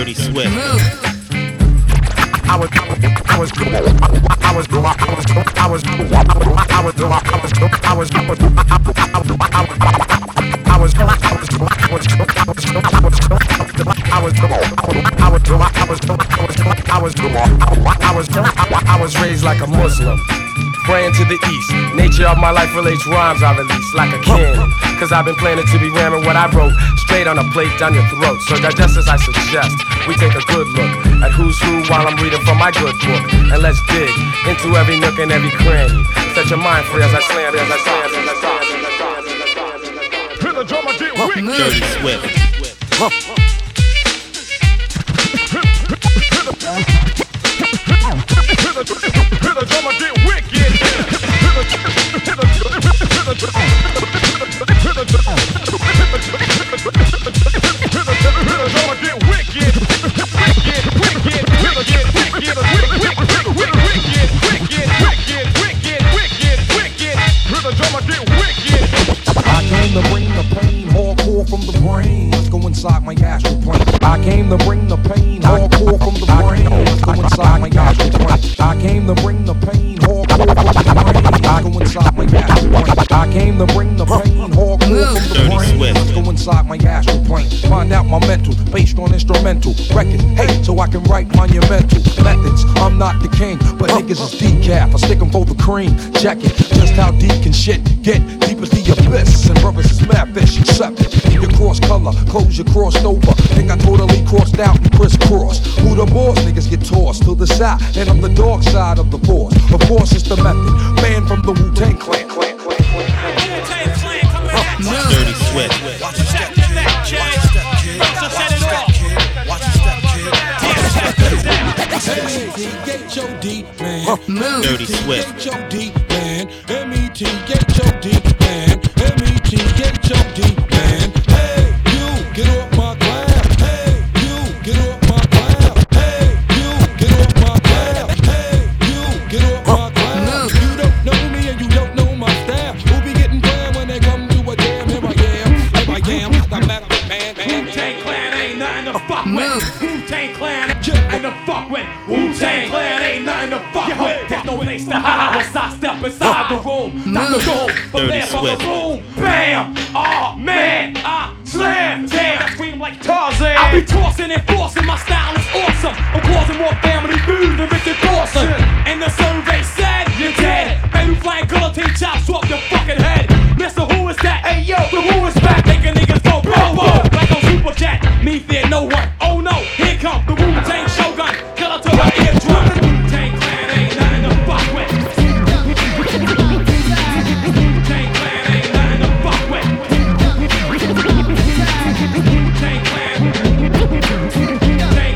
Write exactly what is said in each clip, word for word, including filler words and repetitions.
Dirty Swift. I was, I was, I was, I was, I was, I was, I was, I was, I was, I was, I was, I was raised like a Muslim, praying to the east. Nature of my life relates rhymes I release like a king. Cause I've been planning to be ramming what I wrote straight on a plate down your throat. So digest as I suggest, we take a good look at who's who while I'm reading from my good book. And let's dig into every nook and every cranny. Set your mind free as I slam, as I slam, as I slam, as I slam. Hear the drummer get wicked. Dirty Swift. Hear the drummer get wicked. Hear the drummer get wicked. Wicked, wicked, wicked, wicked, wicked, wicked, wicked, wicked, wicked, wicked, wicked. Hear the drummer get wicked. I came to bring the pain, hardcore from the brain. Let's go inside my astral plane. I came to bring the pain, hardcore from the brain. Let's go inside my astral plane. I came to bring the pain, hardcore from the brain. I go inside my astral plane. I came to bring the pain, hardcore from the brain. Let's go inside my astral plane. Find out my mental, based on instrumental record. Hey, so I can write monumental methods. I'm not the king, but niggas is decaf. I stick 'em for the cream. Check it, just how deep can shit get? Deep as the abyss, and brothers is mad fish. Accept it. Your cross color, clothes you crossed over. Think I totally crossed out and crisscross. Who the boss? Niggas get tossed to the side, and I'm the dark side of the force. Of course, it's the method. Man from the Wu-Tang Clan. Clan, Clan, Clan. Dirty Swift. Watch your step, kid. Watch your step, kid. Watch your step, kid. Watch your step, kid. M E T H O D, man. Dirty Swift. M E T H O D, man. M E T H O D, man. M E T H O D, man. Hey, you, get off my ground. Hey, you, get off my ground. Hey, you, get off my ground. Hey, you, get off my ground. You don't know me and you don't know my style. Who be getting burned when they come to a jam? Here I am, here I am, the metal man, man. Wu-Tang Clan ain't nothing to fuck with. Wu-Tang Clan ain't nothing to fuck with. Wu-Tang Clan ain't nothing to fuck with. There's no place to hide once I step inside the room. Not the door, but there for the room. Bam! Oh man, I slam, damn, I scream like Tarzan. I be tossing and forcing, my style is awesome. I'm causing more family food than Richard Dawson. And the survey said you're dead. Baby flying guillotine chops off your fucking head. Mister Who is that? Hey yo, the who is back? Making niggas go whoa whoa, like on Super Jet. Me fear no one. Oh no, here come the Wu-Tang Shogun. Killer to her eardrum. Wu-Tang Clan ain't nothing to fuck with. Wu-Tang Clan ain't nothing to fuck with. Wu-Tang Clan. Wu-Tang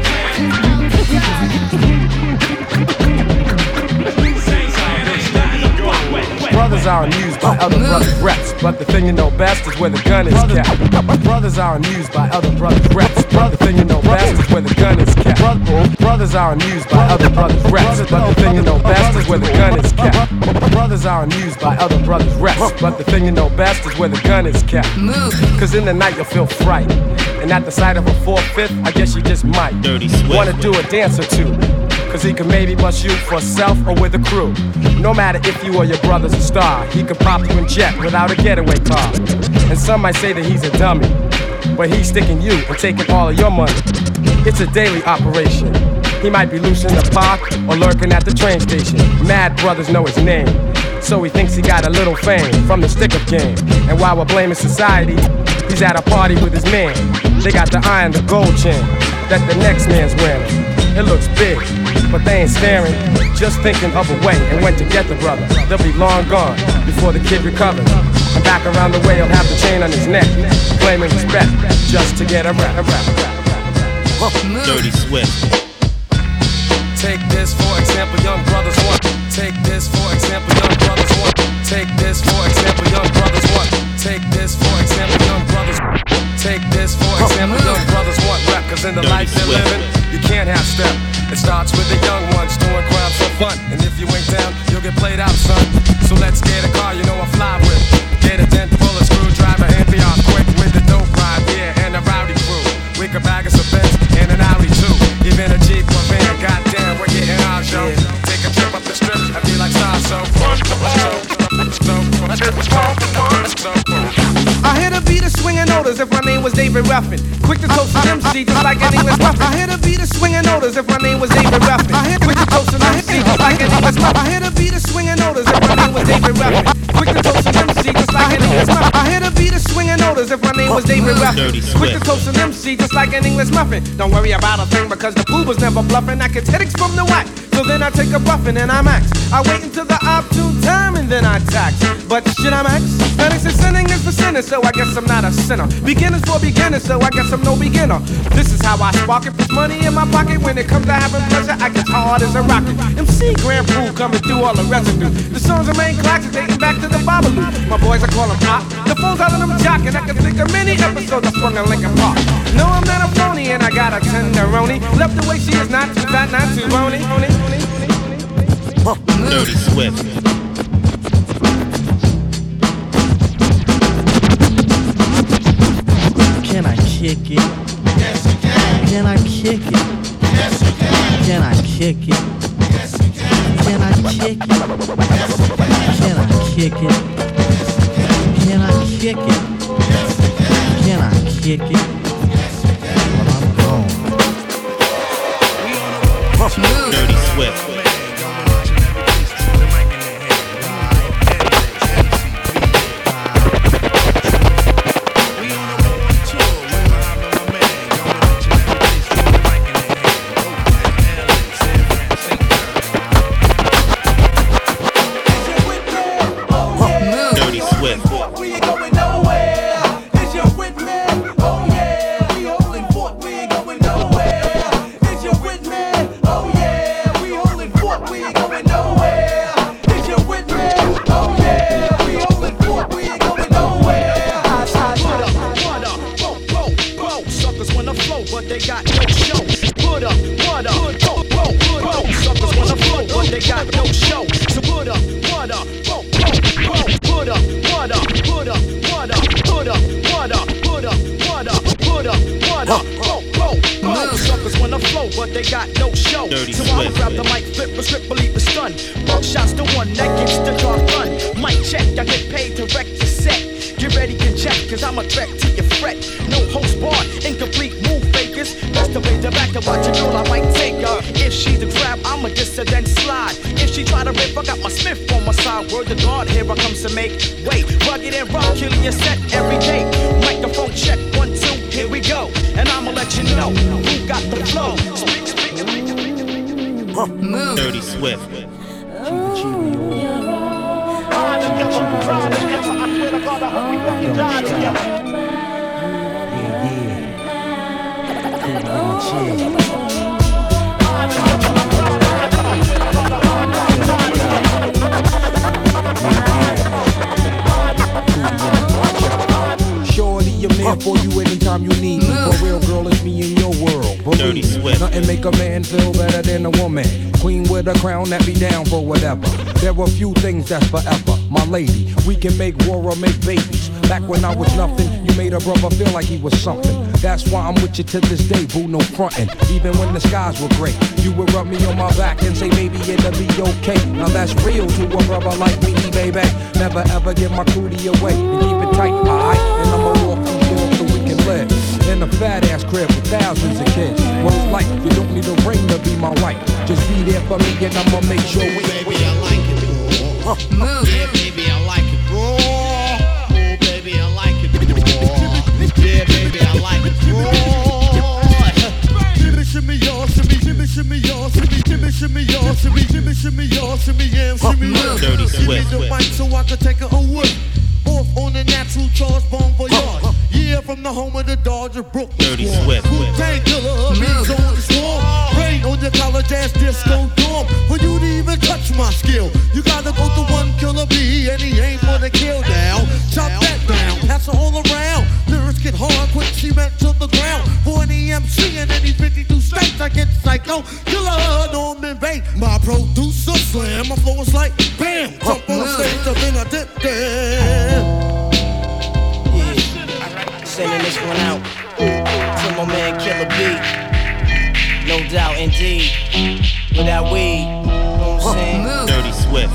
Clan. Brothers are amused by other brothers' reps, but the thing you know best is where the gun is kept. Brothers are amused by other brothers' reps, but the thing you know best is where the gun is kept. Brothers are amused by other brothers' reps, but the thing you know best is where the gun is kept. Brothers are amused by other brothers' reps, but the thing you know best is where the gun is kept. Cause in the night you'll feel fright, and at the sight of a four-fifth, I guess you just might Dirty Swift. wanna do a dance or two. Cause he can maybe bust you for self or with a crew. No matter if you or your brother's a star, he could pop you in jet without a getaway car. And some might say that he's a dummy, but he's sticking you and taking all of your money. It's a daily operation. He might be loose in the park or lurking at the train station. Mad brothers know his name, so he thinks he got a little fame from the stick-up game. And while we're blaming society, he's at a party with his man. They got the eye and the gold chain that the next man's wearing. It looks big, but they ain't staring, just thinking of a way and when to get the brother. They'll be long gone before the kid recovers. And back around the way, he'll have the chain on his neck, claiming respect just to get a rap. Dirty Swift. Take this for example, young brothers want. Take this for example, young brothers want. Take this for example, young brothers want. Take this for example, young brothers. Take this for example, young brothers want rap. Cause in the life they're living, you can't have step. It starts with the young ones doing crowds for fun. And if you ain't down, you'll get played out, son. So let's get a car you know I fly with. Get a dent full of screwdriver and be off quick with the dope ride, yeah, and a rowdy crew. We could bag us a Benz and an Audi too. Even a Jeep or van, goddamn, we're getting high, yo. Take a trip up the strip, I be like Sasso. I hear the beat of swinging notice if my name was David Ruffin. Quick to toast an M C just like an English muffin. I hear the beat of swinging notice if my name was David Ruffin. I hear quick to toast an M C just like an English muffin. I hear the beat of swinging notice if my name was David Ruffin. Quick to toast an M C just like an English muffin. I hear the beat of swinging notice if my name was David Ruffin. Quick to toast an M C just like an English muffin. Don't worry about a thing because the fool was never bluffing. I get headaches from the whack. So then I take a buffin' and I max. I wait until the opportune time and then I tax. But should I max? Phoenix is sinning is for sinners, so I guess I'm not a sinner. Beginners for beginners, so I guess I'm no beginner. This is how I spark it. Put money in my pocket. When it comes to having pleasure, I get hard as a rocket. M C Grand Pool coming through all the residue. The songs are main classics dating back to the Babalu. My boys, I call them pop. The phone's out of them jocking. I can think of many episodes I swung in Lincoln Park. No, I'm not a phony and I got a tenderoni. Left the way she is, not too fat, not too bony. Dirty Swift. Can I kick it? Yes, you can. Can I kick it? Yes, you can. Can I kick it? Yes, you can. Can I kick it? Yes, you can. Can I kick it? Can I kick it? Yes, you can. Can I kick it? Yes, you can. Well, I'm gone. Dirty Swift. Dirty Swift. Shorty, I'm there for you anytime you need me. For real, girl, it's me in your world. Dirty Swift. Nothing make a man feel better than a woman. Queen with a crown that be down for whatever. There are few things that's forever. My lady, we can make war or make babies. Back when I was nothing, you made a brother feel like he was something. That's why I'm with you to this day, boo, no frontin'. Even when the skies were gray, you would rub me on my back and say, maybe it'll be okay. Now that's real to a brother like me, baby. Never ever give my cootie away and keep it tight, alright? And I'ma walk through doors so we can live in a fat ass crib with thousands of kids. What it's like, you don't need a ring to be my wife. Just be there for me and I'ma make sure we. Baby, I like it raw. Move. Yeah, baby, I like it raw. Oh, baby, I like it raw. Yeah, baby, I like it raw. Shimmy, shimmy, y'all, shimmy, shimmy, shimmy, y'all, shimmy, shimmy, shimmy, y'all, shimmy, shimmy, shimmy, y'all, shimmy, yeah, shimmy, yeah. Dirty Give me Swift. the mic so I can take it away. Off on the natural charge, bomb for yard. Yeah, from the home of the Dodger Brooklyn. Dirty Squad. Swift. Wu-Tang Killer, beats on the swarm. Rain on your college ass disco dorm. For you to even touch my skill, you gotta go to one killer B, and he ain't for the kill down. Chop that down, pass it all around. Lyrics get hard, quick cement to the ground. For any M C in any fifty-two states, I get psycho. Killer, Norman Bates, my producer slam. My flow is like bam, jump on the stage, I've been addicted. Sending this one out to my man Killer B. No No doubt, indeed. With that weed, you know what I'm saying? Dirty Swift.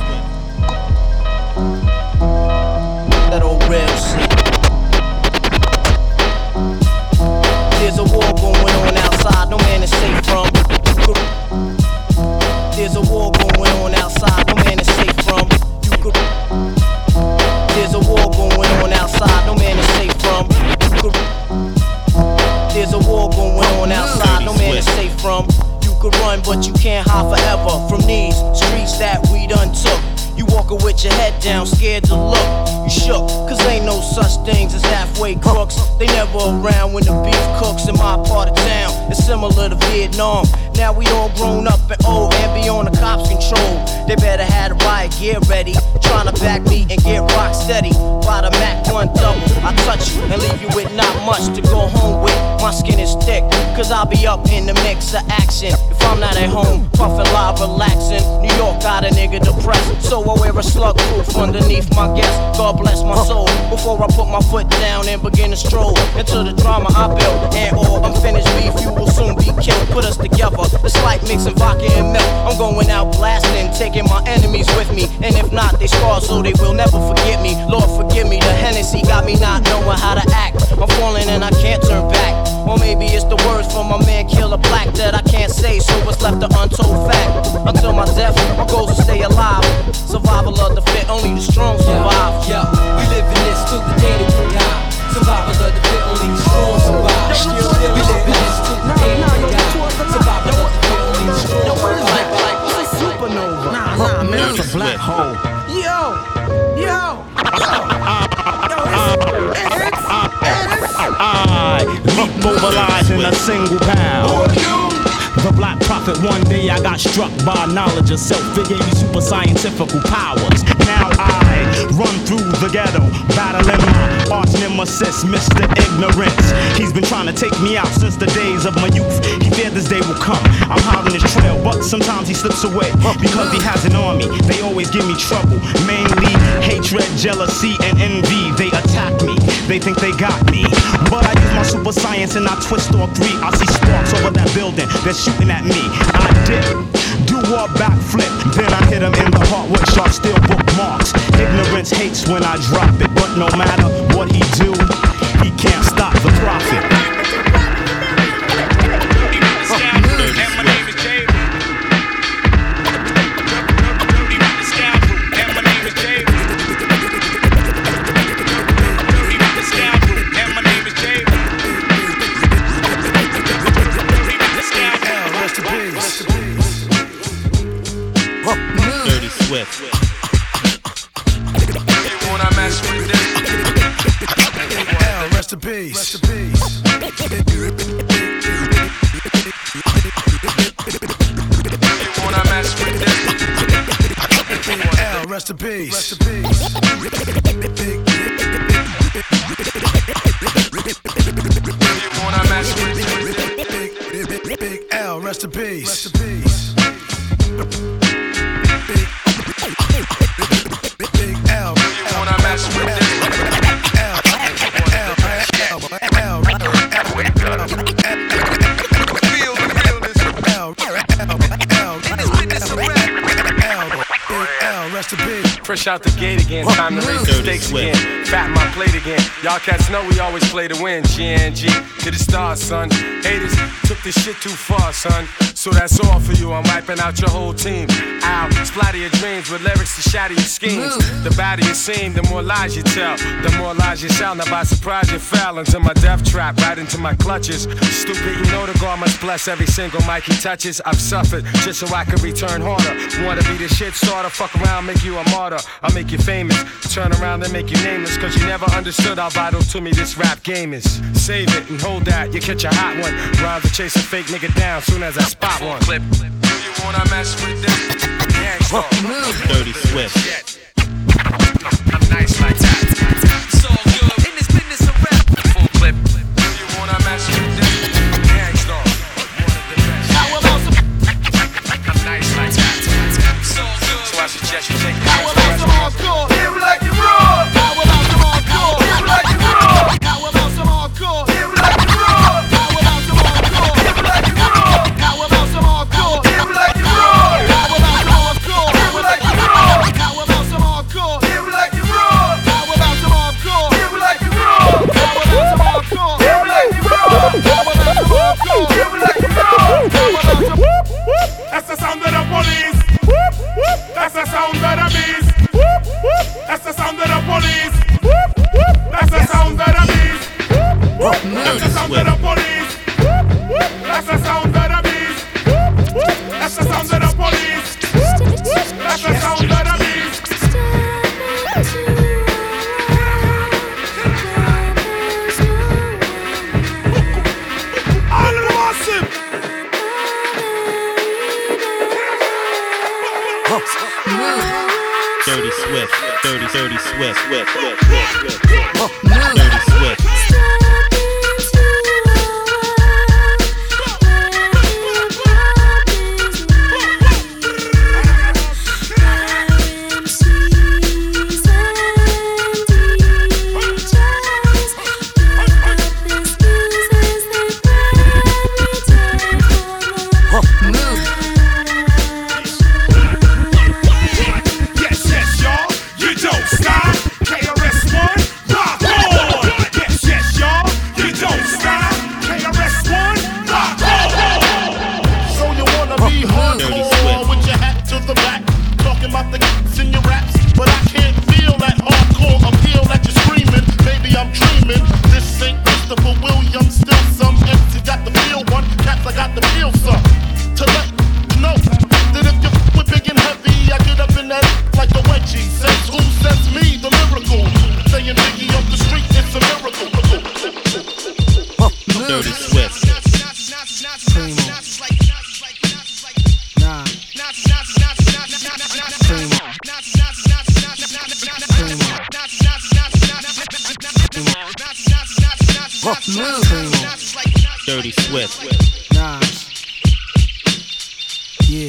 That old real shit. There's a war going on outside, no man is safe from. There's a war going on outside, no man is safe from. You could. There's a war going on outside, no man is safe from. You could. There's a war going on outside, no man is safe from. You could run, but you can't hide forever from these streets that we done took. You walking with your head down, scared to look. You shook, cause ain't no such things as halfway crooks. They never around when the beef cooks in my part of town. It's similar to Vietnam. Now we all grown up and old and be on the cops' control. They better have the riot gear ready, trying to back me and get rock steady. By the Mac one double, I touch you and leave you with not much to go home with. My skin is thick, cause I'll be up in the mix of action. If I'm not at home, puffin' live, relaxing. New York got a nigga depressed, so I wear a slug proof underneath my guest. God bless my soul. Before I put my foot down and begin to stroll into the drama I built. And all unfinished beef, you will soon be killed. Put us together, it's like mixing vodka and milk. I'm going out blasting, taking my enemies with me. And if not, they scar so they will never forget me. Lord forgive me, the Hennessy got me not knowing how to act. I'm falling and I can't turn back. Or maybe it's the words from my man Killer Black that I can't say, so what's left the untold fact. Until my death, my goals will stay alive. Survival of the fit, only the strong survive. Yeah, yeah. We live in this till the day that we die. Survival of the fit, only the strong survive. We live in this till the day that we die. Survival of the fit, only the strong survive. It's a supernova. Nah, nah, man, it's a black hole. Yo, yo, yo, yo, it's, it's, it's. I leap over lies in a single pound. The Black Prophet, one day I got struck by knowledge of self. It gave me super scientifical powers. Now I run through the ghetto, battling my arch nemesis, Mister Ignorance. He's been trying to take me out since the days of my youth. He feared this day will come. I'm hot on his trail, but sometimes he slips away because he has an army. They always give me trouble, mainly hatred, jealousy, and envy. They attack me, they think they got me, but I use my super science and I twist all three. I see sparks over that building. They're shooting at me. I dip, do a backflip, then I hit him in the heart with sharp steel bookmarks. Ignorance hates when I drop it, but no matter what he do, he can't stop the prophet. Dirty Swift. When I mess with this, Rest in peace. Rest in peace. when I mess with this, L, rest in peace. Rest in peace. when I mess with this, Big, big L, rest in peace. Rest in peace. Big L, when I mess with this. L, L, L, rest in peace. Fresh out the gate again, time to raise the stakes again. Fat my plate again. Y'all cats know we always play to win. G N G to the stars, son. Haters took this shit too far, son. So that's all for you. I'm wiping out your whole team. Ow, splatter your dreams with lyrics to shatter your schemes. The badder you seem, the more lies you tell. The more lies you sound. Now by surprise you fell into my death trap, right into my clutches. Stupid, you know the God must bless every single mic he touches. I've suffered just so I can return harder. Wanna be the shit starter? Fuck around, make you a martyr. I'll make you famous. Turn around and make you nameless. Cause you never understood how vital to me this rap game is. Save it and hold that, you catch a hot one. Rhymes to chase a fake nigga down soon as I spot one. Clip. Do you wanna mess with this? Gangsta. Dirty Swift. I'm nice like that. It's all good. In this business of rap. Full clip. Do you wanna mess with this? Gangsta. One of the best. I'm nice like that. It's all good. So I suggest you take How about some hardcore? Yeah, we like it raw. How about some hardcore? Yeah, we like it raw. How about some hardcore? Yeah, we like it raw. How about some hardcore? Yeah, we like it raw. How about That's the sound of the police. That's the sound of the beast. That's the sound of the police. That's the sound of the beast. That's the sound of the police. That's the sound of the beast. That's the sound of the police. That's the sound of the beast. All massive. Dirty Swift, dirty, dirty Swift, Swift, Swift, Swift, Swift, Dirty Swift. Dirty Swift. Nas. Yeah.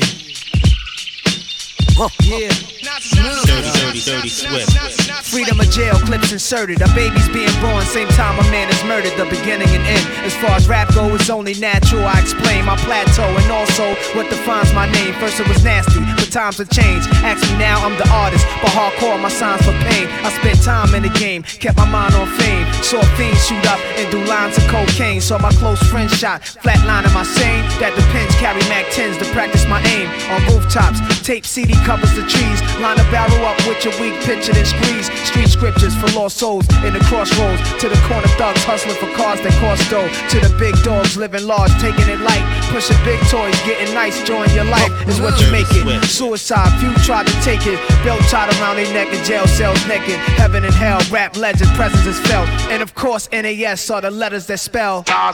Yeah. Dirty, dirty, dirty Swift. Freedom of jail, clips inserted. A baby's being born, same time a man is murdered. The beginning and end. As far as rap go, it's only natural. I explain my plateau and also what defines my name. First it was nasty, but times have changed. Ask me now, I'm the artist, but hardcore my signs for pain. I spent time in the game, kept my mind on fame. Saw fiends shoot up and do lines of cocaine. Saw my close friend shot, flatline in my sane. That depends, carry Mac tens to practice my aim. On rooftops, tape C D covers the trees. Line a barrel up with your weak picture and squeeze. Street scriptures for lost souls in the crossroads. To the corner thugs hustling for cars that cost dough. To the big dogs living large, taking it light. Pushing big toys, getting nice, enjoying your life is what you make it. Suicide, few tried to take it. Belt tied around their neck in jail cells naked. Heaven and hell, rap legend, presence is felt. And of course, N A S are the letters that spell. My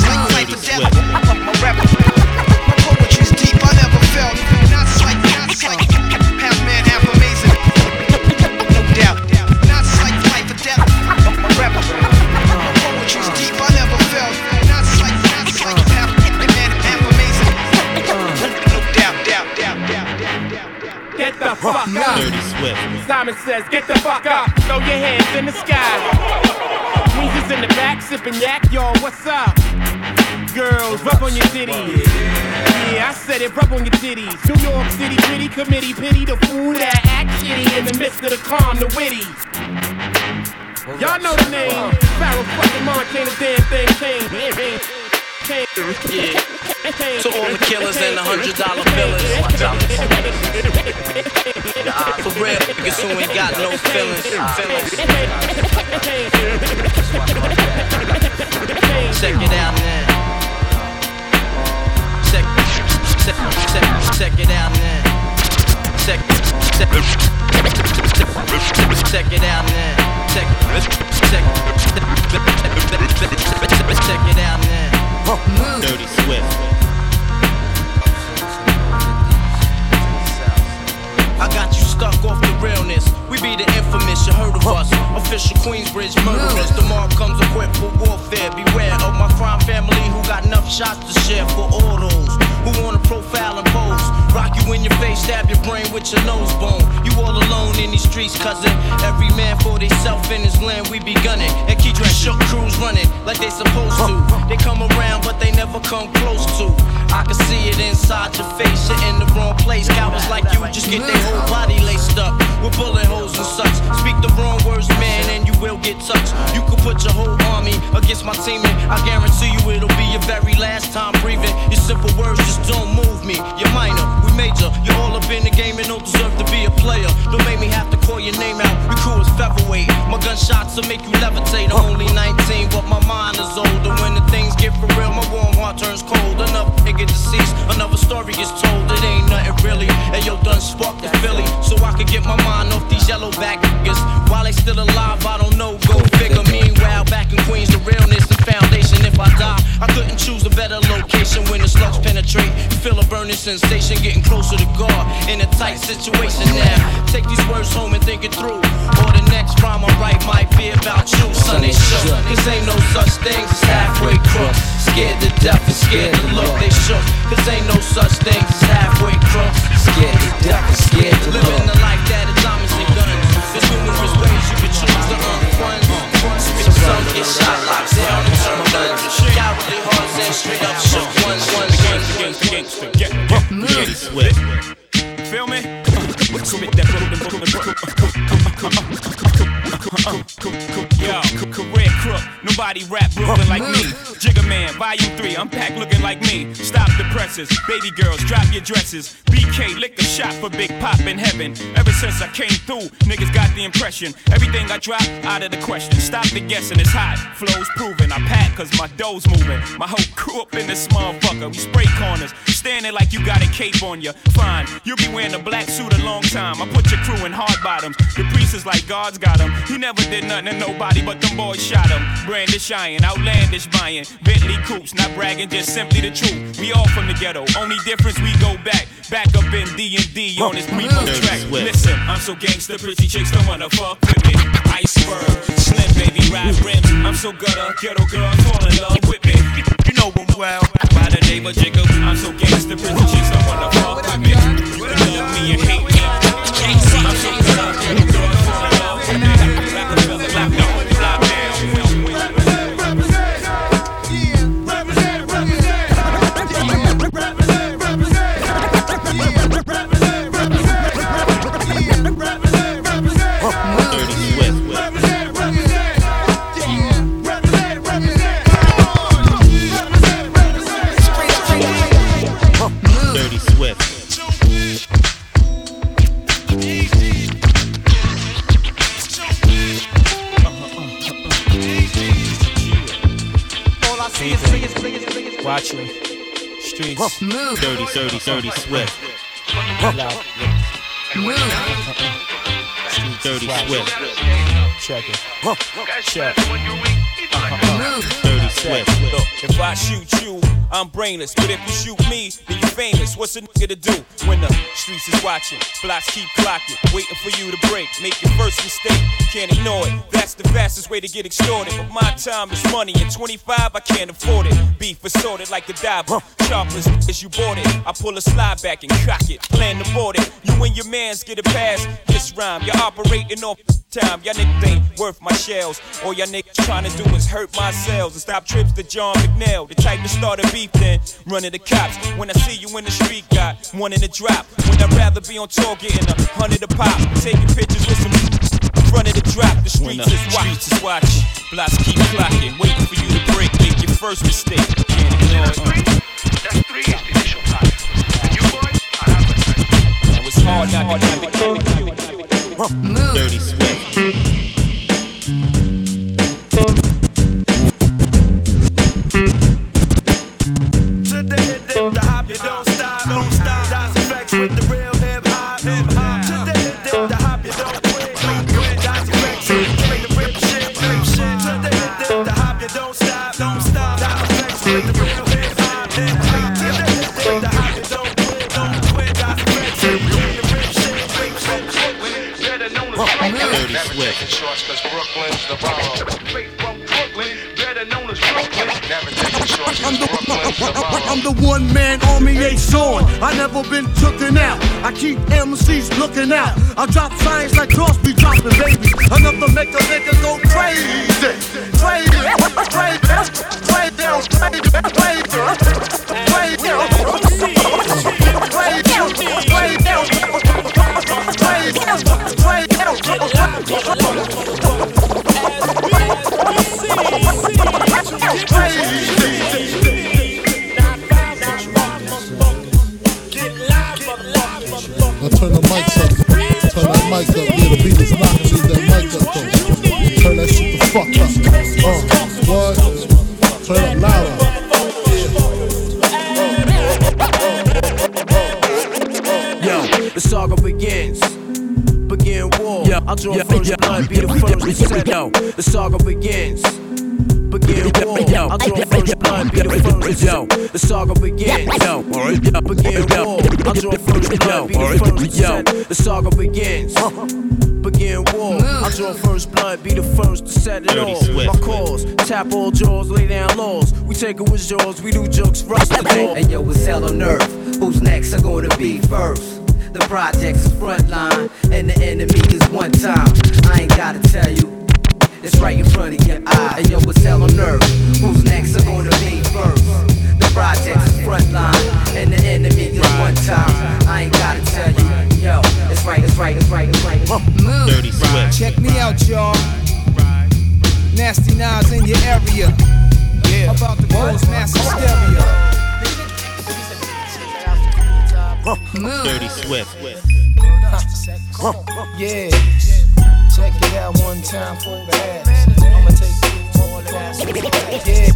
poetry's deep, I never felt. Not like, not like, half man, half amazing. No doubt, not like life or death. My rap, my poetry's deep, I never felt. Not like, not like, half man, half amazing. No doubt, doubt, doubt, doubt, doubt. Get the fuck up. Dirty Swift. Simon says, get the fuck up. Throw your hands in the sky. Weezer's in the back, sipping yak, y'all, what's up? Girls, rub on your titties. Yeah, I said it, rub on your titties. New York City, pretty committee, pity the fool that act shitty in the midst of the calm, the witty. Y'all know the name. Pharaoh fucking Mon can't a damn thing change. Yeah. To all the killers and the hundred dollar billers. For real, niggas who ain't got no feelings. Check it out now. Check, check, check, check it out now. Check, check, check it out now. Check, check, check it out now. Dirty Swift. I got you stuck off the realness. We be the infamous, you heard of us. Official Queensbridge murderers. The mob comes equipped for warfare. Beware of my crime family who got enough shots to share for all those who wanna profile and pose. Rock you in your face, stab your brain with your nose bone. You all alone in these streets, cousin. Every man for theyself in his land, we be gunning. And keep your shook crews running like they supposed to. They come around, but they never come close to. I can see it inside your face, you're in the wrong place. Cowards like you just get their whole body laced up with bullet holes words and such. Speak the wrong words, man, and you will get touched. You could put your whole army against my team, and I guarantee you it'll be your very last time breathing. Your simple words just don't move me. You're minor, we major. You're all up in the game and don't deserve to be a player. Don't make me have to call your name out. Your crew is featherweight. My gunshots will make you levitate. I'm only nineteen, but my mind is older. When the things get for real, my warm heart turns cold. Enough nigga deceased, another story gets told. It ain't nothing really. And yo, done sparked the Philly, so I could get my mind off these yellow back niggas. While they still alive, I don't know. Go figure. Meanwhile, back in Queens, the realness and foundation. If I die, I couldn't choose a better location. When the slugs penetrate, you feel a burning sensation, getting closer to God in a tight situation. Now, take these words home and think it through. Or the next rhyme I write might be about you, son. They shook, cause ain't no such thing as halfway crooks. Scared to death and scared to look. They shook, cause ain't no such thing as halfway crooks. Scared to death and scared to look. Living the life that is diamonds and guns. There's numerous ways you can choose to earn funds. Some get shot, locked down, and turn guns. Cowardly hearts and straight up shook ones. Ones, Gangsta, gangsta, gangsta, get, get, Dirty Swift. Feel me? Spit that Yo, career crook, nobody rap Brooklyn like me. Jigga Man, Volume three, unpack looking like me. Stop the presses, baby girls, drop your dresses. B K, lick a shot for Big Pop in heaven. Ever since I came through, niggas got the impression everything I drop, out of the question. Stop the guessing, it's hot, flow's proven. I pack cause my dough's moving. My whole crew up in this motherfucker. We spray corners, standing like you got a cape on you. Fine, you'll be wearing a black suit a long time. I put your crew in hard bottoms. The priest is like God's got him. He never did nothing to nobody, but them boys shot him. Brandish iron, outlandish buying. Bentley coupes, not bragging, just simply the truth. We all from the ghetto, only difference we go back. Back up in D and D on this primo track. Listen, I'm so gangsta, pretty chicks don't wanna fuck with me. Iceberg, slim baby, ride rims. I'm so gutter, ghetto girls fall in love with me. You know them well, by the name of Jacob. I'm so gangsta, pretty chicks don't wanna fuck with me. You love me and hate me. I'm so gutter, ghetto girls fall in love with me. Clap the feather, clap down, clap down. Dirty Swift. Watch me. Streets. Move. Dirty, dirty, dirty Swift. Move. Dirty Swift. Check it. Check. Move. Dirty Swift. Look, if I shoot you, I'm brainless. But if you shoot me, then you famous. What's a nigga to do when the streets is watching? Blocks keep clocking, waiting for you to break. Make your first mistake, can't ignore it. That's the fastest way to get extorted. But my time is money, and twenty-five I can't afford it. Beef assorted like the diver. Sharpless as you bought it. I pull a slide back and cock it. Plan to board it. You and your mans get a pass. This rhyme, you're operating off time. Y'all niggas ain't worth my shells. All y'all niggas trying to do is hurt my cells and stop trips to John McNeil. The type to start a beef then running the cops. When I see you in the street, got one in the drop. When I'd rather be on tour getting a hundred a pop. Taking pictures with some front of the drop. The streets is watching, streets is watching. Blocks keep clocking, waiting for you to break. Make your first mistake. Can't ignore it. That's three is the initial time. And you boys, I have a Now it's hard not to keep it. Dirty Swift. Today, the hop, you don't stop, don't stop. That's effects with the real hip hop, hip hop. Today, the hop, you don't quit, don't quit. That's effects with the real shit, real shit. Today, the hop, you don't stop, don't stop. That's effects with the real hip hop, hip hop. Today, the hop, you don't quit, don't quit. That's effects with the real shit, real shit. Better known as Brooklyn. Dirty Swift. shorts, cause Brooklyn's the borough. Straight from Brooklyn, better known as Brooklyn. Never taking shorts, cause Brooklyn's the borough. I'm the one man army ain't showing. I never been tooken out. I keep M Cs looking out. I drop signs like Crosby dropping baby. Enough to make a nigga go crazy. Crazy, crazy, crazy, crazy, crazy, crazy, crazy, crazy, crazy. I'll draw first blood, be the first to set out. The saga begins. Begin war. I'll draw first blood, be the first to set. The saga begins. Begin war. I'll draw first blood, be the first to set. The saga begins. Begin war. I'll draw first blood, be the first to set it all. My cause, tap all jaws, lay down laws. We take it with jaws, we do jokes for us to do. And yo, it's hell on earth. Who's next are gonna be first? The project's front line, and the enemy is one time. I ain't gotta tell you, it's right in front of your eye. And yo, it's hell on earth. Who's next are gonna be first? The project's front line, and the enemy is one time. I ain't gotta tell you, yo, it's right, it's right, it's right, it's right. Move. Dirty Swift. Check me out, y'all. Nasty Nas in your area. Yeah. About to close massive stereo. Move. Dirty Swift. Yeah. Check it out one time for the ass. I'ma take you all that. Yeah,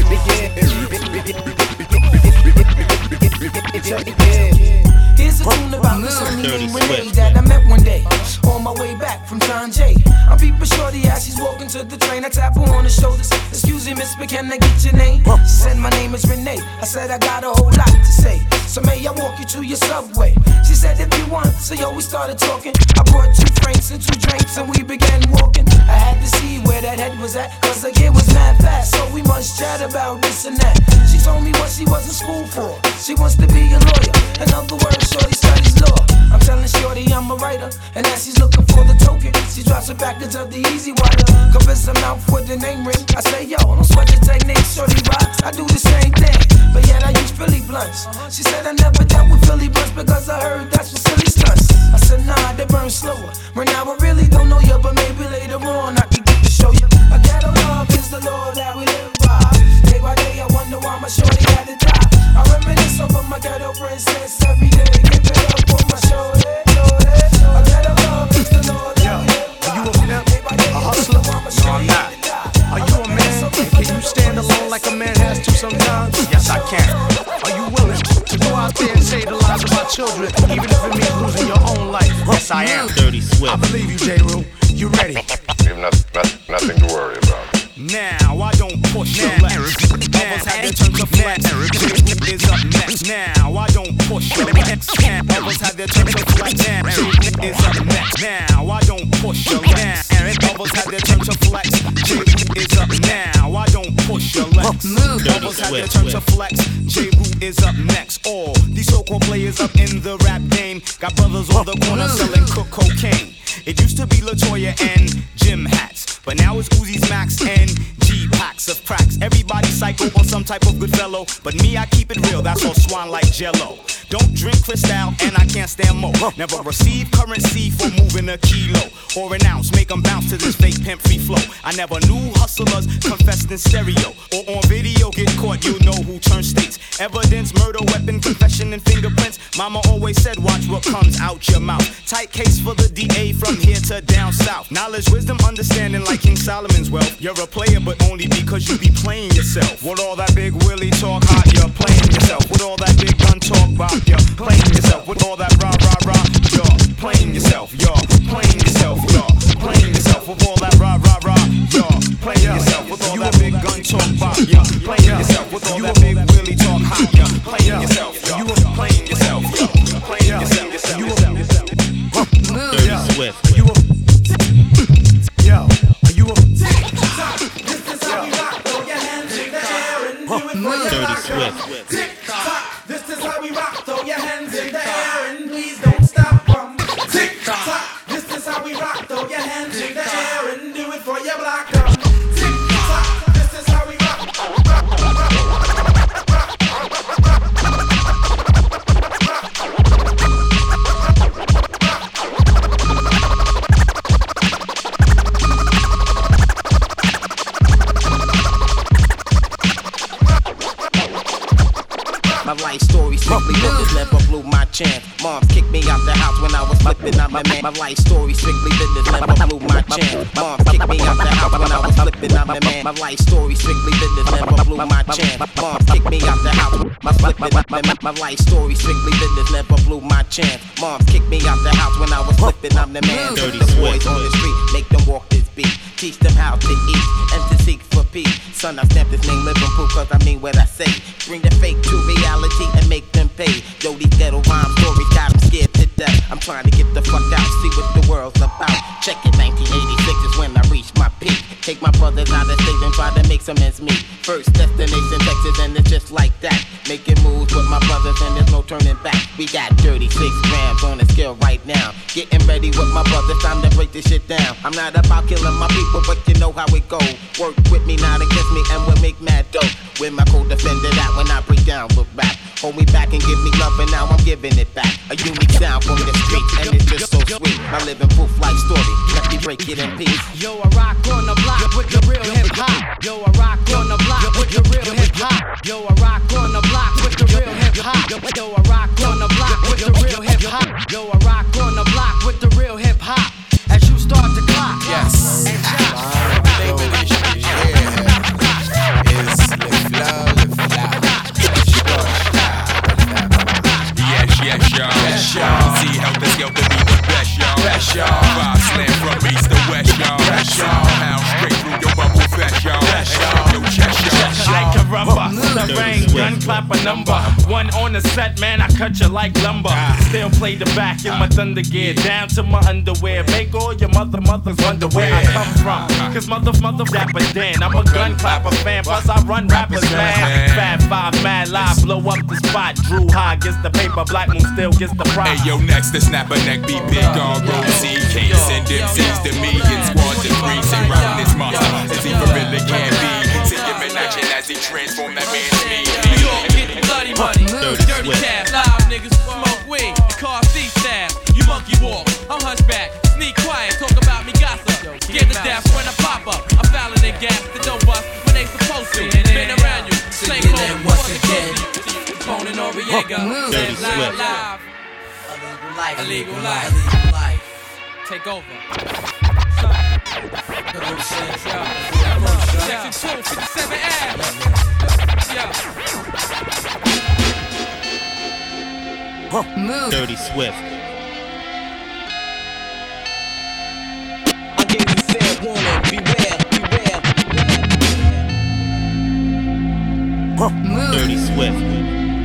here's a tune about this only named Renee that I met one day on my way back from John Jay. I'm peeping shorty as she's walking to the train. I tap her on the shoulders. Excuse me, miss, but can I get your name? She said my name is Renee. I said I got a whole lot to say. So may I walk you to your subway? She said if you want. So yo, we started talking. I brought two franks and two drinks and we began walking. I had to see where that head was at, cause the kid was mad fast. So we must chat about this and that. She told me what she was in school for. She wants to be a lawyer. In other words, shorty studies law. I'm telling shorty I'm a writer. And as she's looking for the token, she drops a package of the easy water. Convince her mouth with the name ring. I say yo, don't sweat the technique, shorty rocks. I do the same thing, but yet I use Philly blunts. She said I never dealt with Philly blunts because I heard that's for silly stunts. I said nah, they burn slower. Right now I really don't know you, but maybe later on I can get to show you. A ghetto love is the law that we live by. Day by day I wonder why my shorty had to die. I reminisce over my ghetto princess every day. Give it up on my shoulder, shoulder. A ghetto love is the law that we live by. Are you a pimp? A hustler? No, I'm not. Are you a man? Can you stand alone like a man has to sometimes? Yes, I can. Are you willing to go out there and save the lives of our children, even if it means losing your own life? Yes, I am. Dirty Swift. I believe you, J-Rue. You ready? You have not, not, nothing to worry about. Now I don't push your legs. Others have their turn to flex. Is up next. Now I don't push your legs. Others have their turn to flex. Is up next. Now I don't push your legs. Others have their turn to flex. Is up now. I don't push your legs. Others have their turn to flex. J-Roo is up next. All these so-called players up in the rap game got brothers on the corner selling cook cocaine. It used to be LaToya and Jim hats, but now it's Uzi's Max and G packs of cracks. Everybody psycho on some type of good fellow, but me, I keep it real. That's all swan like Jello. Don't drink Cristal and I can't stand mo. Never receive currency for moving a kilo or an ounce. Make them bounce to this fake pimp free flow. I never knew hustlers confessed in stereo or on video. Get caught, you know who turns states. Evidence, murder, weapon, confession, and fingerprints. Mama always said, watch what comes out your mouth. Tight case for the D A from here to down south. Knowledge, wisdom, understanding like King Solomon's wealth. You're a player, but only because you be playing yourself. With all that big Willie talk hot, you're playing yourself. With all that big gun talk bop, you're playing yourself. With all that rah rah rah, you're playing yourself. You're playing yourself. You're playing yourself. With all that rah rah rah, you're playing yourself. With all that big gun talk bop, you're playing yourself. With all that big Willie talk hot, you're playing yourself. You're playing yourself. You're playing yourself. Dirty Swift. Yo, are you a Dirty Swift. My life story strictly business, never blew my chance. Mom kicked me out the house when I was flipping out my man. My life story strictly business, never blew my chance. Mom kicked me out the house when I was flipping out my man. My life story strictly business, never blew my chance. Mom kicked me out the house. My flipping my, my, my life story strictly business, never blew my chance. Mom kicked me out the house when I was flipping out the man. Took the boys on the street, make them walk this beat. Teach them how to eat and to seek for peace. Son, I stamped this name living proof cause I mean what I say. Bring the fake to reality and make them pay. Yo, these ghetto rhyme stories got them scared to death. I'm trying to get the fuck out, see what the world's about. Check it, nineteen eighty-six is when I reached my peak. Take my brothers out of state and try to make some ends meet. First destination Texas and it's just like that. Making moves with my brothers and there's no turning back. We got thirty-six grams on the scale right now. Getting ready with my brothers, time to break this shit down. I'm not about killing my people, but you know how it go. Work with me, not against me, and we'll make mad dough. With my co-defender that when I break down with rap. Hold me back and give me love, and now I'm giving it back. A unique sound from the streets, and it's just so sweet. My living proof life story, let me break it in peace. Yo, I rock on the block with the real hip hop. Yo, I rock on the block with the real hip hop. Yo, I rock on the block with the real hip hop. Yo, I rock on the block with the real hip hop. Yo, I rock on the block with the real hip hop. As you start to clock, yes. And shout. Yes, y'all. Yes, y'all. See how the scale to be the best, y'all. Best, y'all. Five slam from east to west, y'all. Best, y'all. Pound straight through your bubble fest, y'all. Best, y'all. Yo, chest, y'all. Like a rubber, the rain, gun clap a number. One on the set, man, I cut you like lumber. Still play the back in my thunder gear, down to my underwear. Make all your mother mothers wonder where I come from. Cause mother, mother, rapper Dan. I'm a gun clapper fan, plus I run rappers, man. Fat Five, mad live, blow up the spot. Drew High gets the paper, Black Moon still gets the prize. Hey, yo, next to snap a neck, be big on road C. Can't send them C's to me in squad to three. Say, riding this monster, as he really can be. See him in action as he transform that man's me. New York, getting bloody money, dirty cash, live niggas, smoke weed, car C style. You monkey walk, I'm hunchback, sneak quiet, talk about me gossip. Get the death when I pop up, I'm fouling and gas, the dope bust when they supposed to. Been around you, same clothes, once again. Bone and Noriega, live, live, live. Illegal life, illegal life. Take over. Section two, fifty-seven Move. Dirty Swift. I gave you fair warning, beware, beware. Move. Dirty Swift.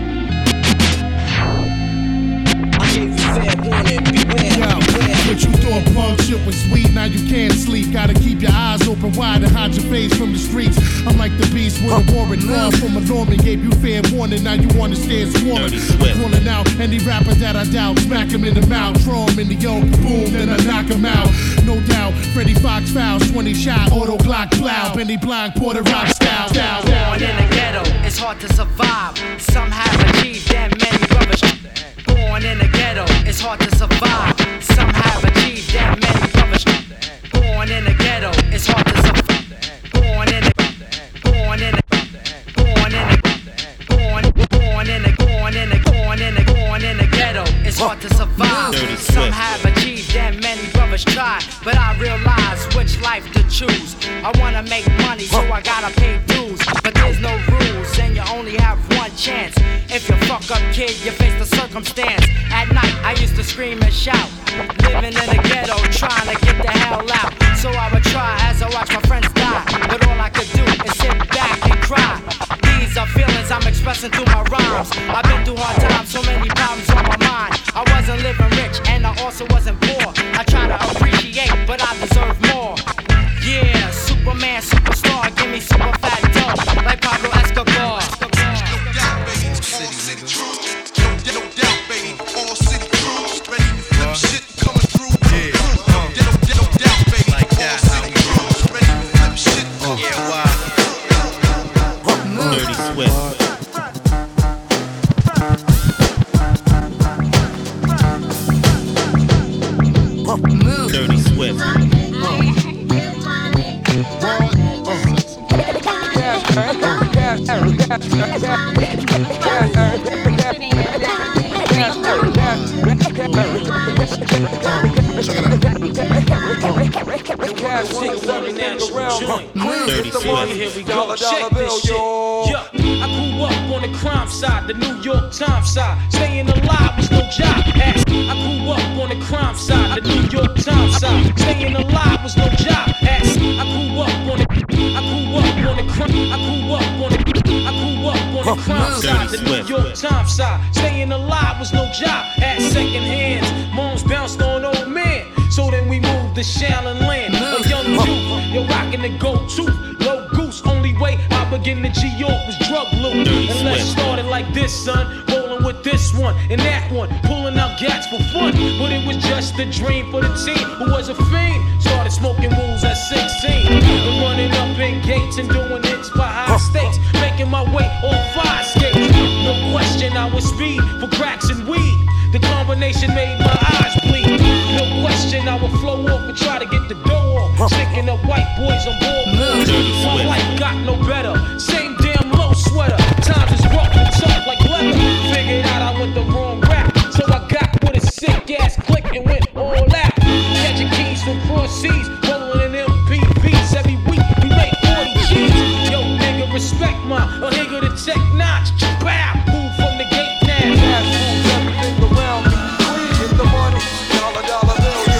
What you thought punk shit was sweet, now you can't sleep. Gotta keep your eyes open wide and hide your face from the streets. I'm like the beast with a warrant. Law from a Norman gave you fair warning, now you wanna stand sworn. I'm calling out any rapper that I doubt. Smack him in the mouth, throw him in the yoke, boom, then I knock him out. No doubt, Freddie Fox fouls, twenty shot, auto Glock plow, Benny Blanc, Porter Rock style. Born in the ghetto, it's hard to survive. Some have achieved that many rubbish. Born in the ghetto, it's hard to survive. Some have achieved that many rubbish. Born in the ghetto, it's hard to survive. Born in the, born in the, born in the, born, born in the, born in the, born in the, born in the ghetto, it's hard to survive. Some have achieved that many brothers try, but I realize which life to choose. I wanna make money, so I gotta pay dues. But there's no rules, and you only have one chance. If you fuck up, kid, you face the circumstance. At night, I used to scream and shout, living in the ghetto, trying to get the hell out. So I would try as I watch my friends die, but all I could do is sit back and cry. These are feelings I'm expressing through my rhymes. I've been through hard times, so many problems on my mind. I wasn't living rich, and I also wasn't poor. I try to appreciate, but I deserve more. Yeah, Superman, superstar, give me super fat dough, like Pablo Escobar. Dirty Swift. Dirty Swift. Dirty Swift. Here we go. Check this shit. Yeah, I grew up on the crime side, the New York Times side. Staying alive was no job. Ass. I grew up on the crime side, the New York Times side. Staying alive was no job. Ass. I grew up on the. I grew up on the crime. I grew up on the. I grew up on the crime side, the New York Times side. Staying alive was no job. At second hands, moms bounced on old men. So then we moved to Shaolin Land. A young youth, you're rocking the go-to. Low goose, only way I begin to G-York was drug loot. And let's start it like this, son. Rolling with this one and that one. Pulling out gats for fun. But it was just a dream for the team who was a fiend. Started smoking rules at sixteen. And running up in gates and doing hits for high stakes. Making my way on fire skates. No question I was speed for cracks and weed. The combination made my eyes bleed. No question I would flow off and try to get the dough off. Sticking up white boys on board. My life got no better. Same damn low sweater. Times is rough and tough like leather. Figured out I went the wrong rap. So I got with a sick ass click and went all out. Catching keys from cross seas. Rolling in M P Vs every week. We make forty G's. Yo, nigga, respect my a nigga to check notch. Bow. Move from the gate now. Fast moves everything around me. Please get the money. Dollar, dollar bill, yo.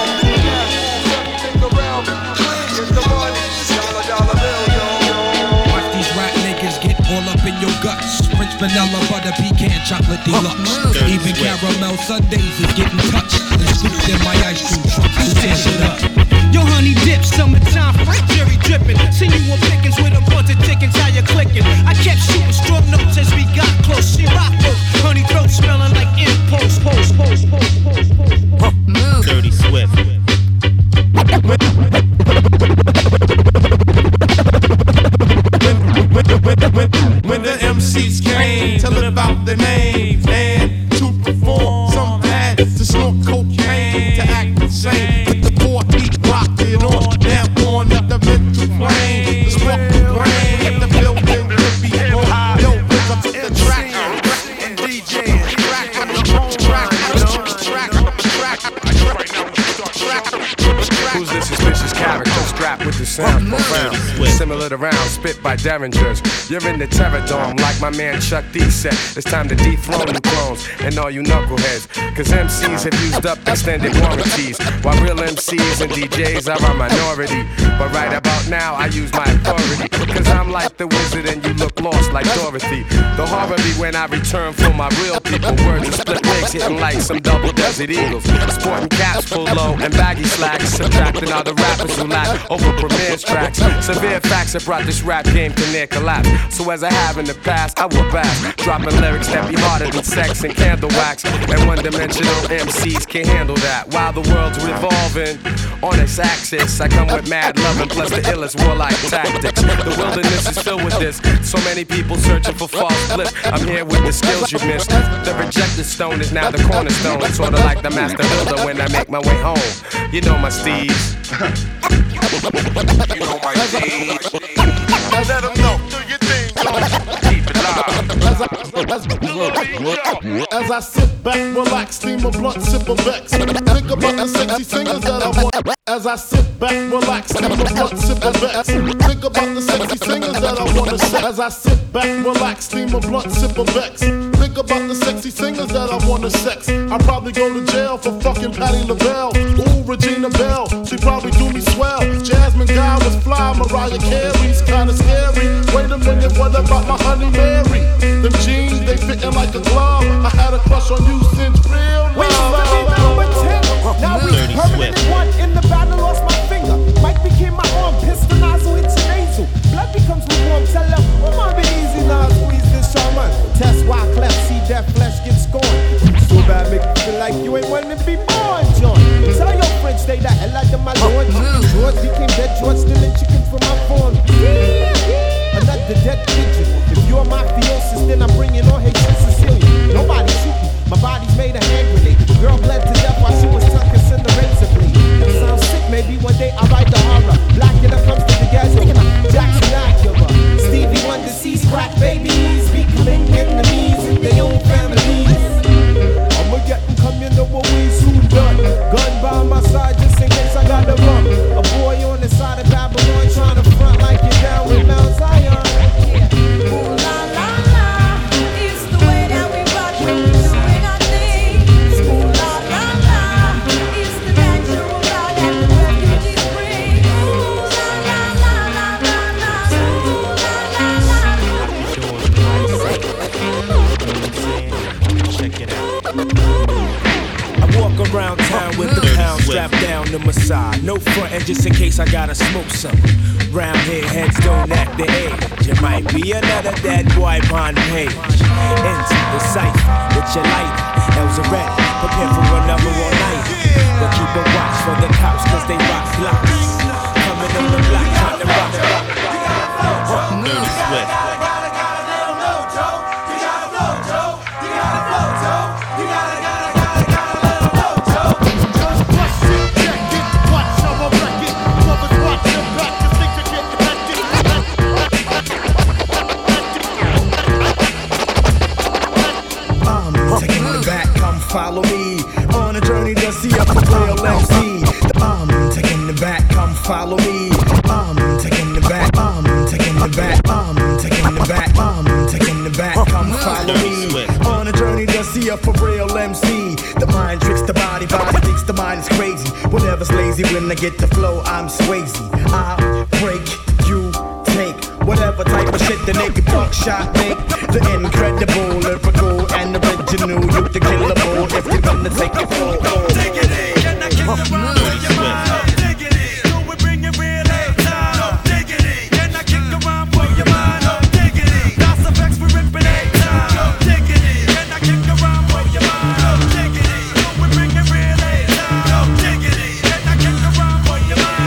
Fast moves everything around me. Please get the money. Dollar, dollar bill, yo. Watch these rap niggas get all up in your guts. French vanilla, butter, pecan, chocolate deluxe. Even caramel sundaes is getting touched. And scooped in my ice cream truck. So tear it up. Yo, honey dip, summertime, Jerry dripping. Seen you on pickings with a bunch of chickens, how you clicking? I kept shooting strong notes as we got close. She rock both, honey throat smelling like impulse. Post, post, post, post, post. Move. Dirty Swift. When the M Cs came to live out their names and to perform, some had to snort cocaine to act insane. With the four heat rocked it on, now on the mental plane. The smoke the brain, let the building could be on. Yo, pick up the track and D J track on the whole track, track, track, track, track. Who's this suspicious character strapped with the sound profound? Similar to rounds spit by derringers. You're in the terror dome like my man Chuck D said. It's time to dethrone you clones and all you knuckleheads. Cause M Cs have used up extended warranties, while real M Cs and D Js are a minority. But right about now I use my authority, cause I'm like the wizard and you look lost like Dorothy. The horror be when I return for my real people. Words of split legs hitting like some double desert eagles. Sporting caps full low and baggy slacks. Subtracting all the rappers who lack over premieres tracks. Severe facts have brought this rap game to near collapse. So as I have in the past, I will back, dropping lyrics that be harder than sex and candle wax. And one-dimensional M Cs can't handle that. While the world's revolving on its axis, I come with mad loving plus the illest warlike tactics. The wilderness is filled with this. So many people searching for false bliss. I'm here with the skills you missed. The rejected stone is now the cornerstone. Sorta like the master builder when I make my way home. You know my steeds. You know my steeds. Let them know. Do your thing. Keep it live. As I, as I sit back, relax, steam a blunt, sip a Vex. Think about the sexy singers that I want. As I sit back, relax, steam a blunt, sip a Vex. Think about the sexy singers that I wanna sex. As I sit back, relax, steam a blunt, sip a Vex. Think about the sexy singers that I wanna sex. I'd probably go to jail for fucking Patti LaBelle. Ooh, Regina Belle, she probably do me swell. Jasmine Guy was fly, Mariah Carey's kinda scary. Wait a minute, what about my honey Mary? Them jeans, they fitting like a glove. I had a crush on you since real love. We really competent. Now we permanent one in the battle, lost my finger. Mike became my arm, pistol nozzle, it's a nasal. Blood becomes lukewarm, tell them, oh my be easy now, squeeze this shaman. Test why cleft, see that flesh get scorned. So bad, make you feel like you ain't wanting to be born, John. Tell your friends, stay the hell out of my lord. George became dead, George stealing chicken from my farm. Another dead pigeon. If you're my theosis, then I'm bringing all hate to Sicilian. Nobody shoot me, my body's made a hand grenade. Girl bled to death while she was tucked in the razor blade. That sounds sick, maybe one day I'll write the horror. Black it up comes to the gas, Jackson Acura. Stevie Wonder sees crack babies, becoming enemies in their own families. I'ma get them come, you know what we soon. I walk around town with the pound strapped down to my side. No frontin' just in case I gotta smoke something. Round here, heads don't act the age. It might be another dead boy on page. Into the cipher with your lighter. Elves are ready, prepare for another all night. We'll keep a watch for the cops cause they rock blocks. Coming on the block, trying to rock the rock. Dirty Swift. Follow me on a journey to see a real M C. I'm taking the back, come follow me. I'm taking the back, I'm taking the back, I'm taking the back, I'm taking the back, come follow me. On a journey to see a for real M C. The mind tricks the body, body thinks the mind is crazy. Whatever's lazy when I get the flow, I'm Swayze. I break, you take whatever type of shit the naked punk shot make. The incredible, lyrical, and original. You the killable if you're gonna take it full. Take it in, and I kick around for your mind. Take it in, so we bring it real every time. Take it in, and I kick around for your mind. Take it in, that's the facts we ripping every time. Take it in, and I kick around for your mind. Take it in, so we bring it real every time. Take it in, and I kick around for your mind.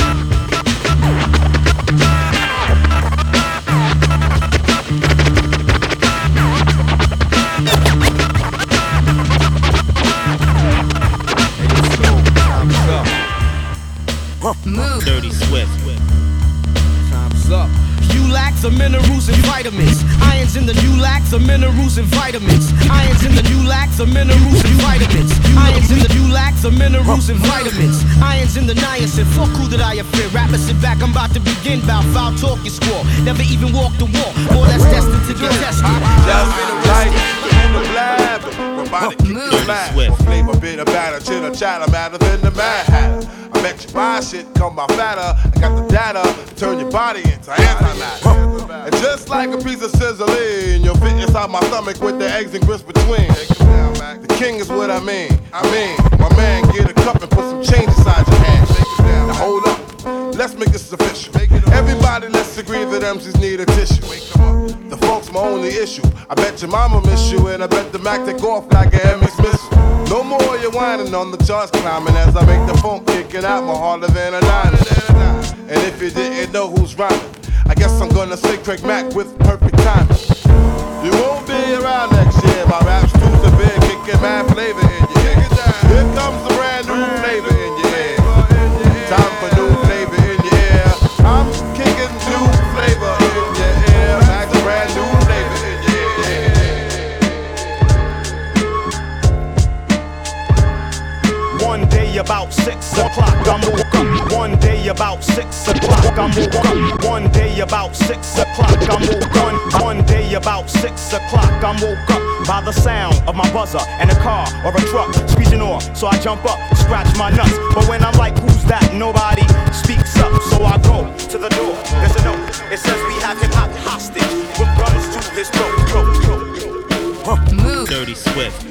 Move. Dirty Swift. Time's up. You lack the minerals and vitamins. Irons in the new lack the minerals and vitamins. Irons in the new lack the minerals and vitamins. Irons in the new lack the minerals and vitamins. Irons in the niacin. Fuck who did I fear? Rappers sit back, I'm about to begin. Bout foul talk you squall. Never even walked the wall. All that's destined to get tested. Just been a right in the lab. Robotic kick the mad. Flavor bit of batter, chitter chatter, madder than the Mad Hatter. I bet you buy shit, come by fatter. I got the data to turn your body into antimatter. And just like a piece of sizzling, you'll fit inside my stomach with the eggs and grits between. The king is what I mean. I mean, my man, get a cup and put some change inside your hand. Now hold up, let's make this official. Everybody, let's agree that M Cs need a tissue. The funk's my only issue. I bet your mama miss you, and I bet the Mac take off like an M X missile. No more you whining on the charts climbing as I make the funk kicking out more harder than a nine. And if you didn't know who's rhyming, I guess I'm gonna say Craig Mack with perfect timing. You won't be around next year. My rap's too severe, kicking mad flavor in your ear. Here comes a brand new flavor in your ear. Time for new flavor in your ear. I'm kicking new flavor in your ear. Max brand new flavor in your ear. One day about six o'clock, I woke up. One day about six o'clock, I woke up. One day about six o'clock, I woke up. One day about six o'clock, I woke up by the sound of my buzzer and a car or a truck screeching off. So I jump up, scratch my nuts. But when I'm like, who's that? Nobody speaks up. So I go to the door. There's a note. It says we have hip hop hostage with guns to his throat. Huh. Dirty Swift.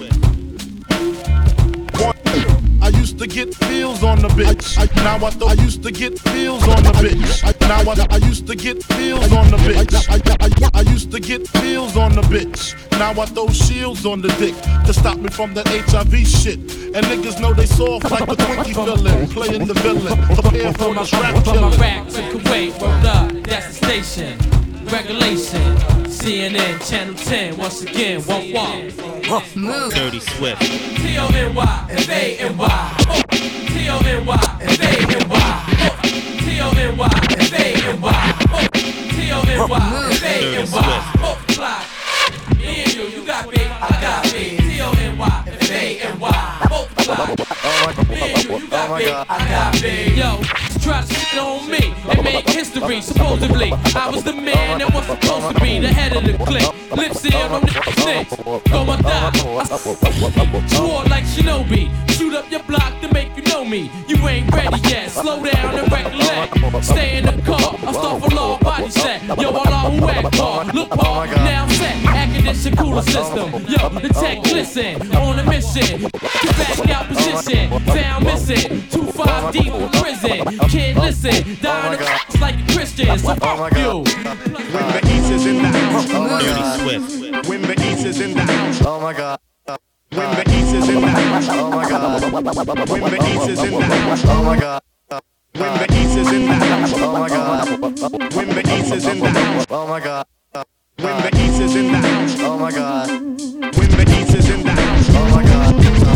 I used to get feels on the bitch. I, I, now I, th- I used to get feels on the bitch. I, now I, I used to get feels on the bitch. I, I, I, I used to get feels on the bitch. Now I throw shields on the dick to stop me from that H I V shit. And niggas know they soft like the Twinkie villain, playing the villain, prepare for the rap From killing. Iraq to Kuwait, word up, that's the station. Regulation, C N N Channel ten, once again, one one. Move. Dirty Swift. T O N Y, F A N Y. T O N Y, F A N Y. T O N Y, F A N Y. T O N Y, F A N Y. Multiply. Me and you, you got me, I got me. T O N Y, F A N Y. Multiply. Oh my God. I got big. Yo, try to shit on me and make history. Supposedly, I was the man that was supposed to be the head of the clique. Lip seal on the snakes. Go my die. I swore like Shinobi. Shoot up your block to make you know me. You ain't ready yet. Slow down and recollect. Stay in the car. I start for law body set. Yo, Allah who act hard. Look hard. Now set. Acting this shit cooler system. Yo, the tech glisten. On a mission. Get back out position. Down missing. Two five deep in prison. Can't listen. Dying the like a Christian. So fuck you. When the East is in the house. Oh my God. When the East is in the house. Oh my God. When the East is in the house. Oh my God. When the East is in the house. Oh my God. When the East is in the house. Oh my God. When the East is in the house. Oh my God. When the East is in the house. Oh my God. When the East is in the house. Oh my God.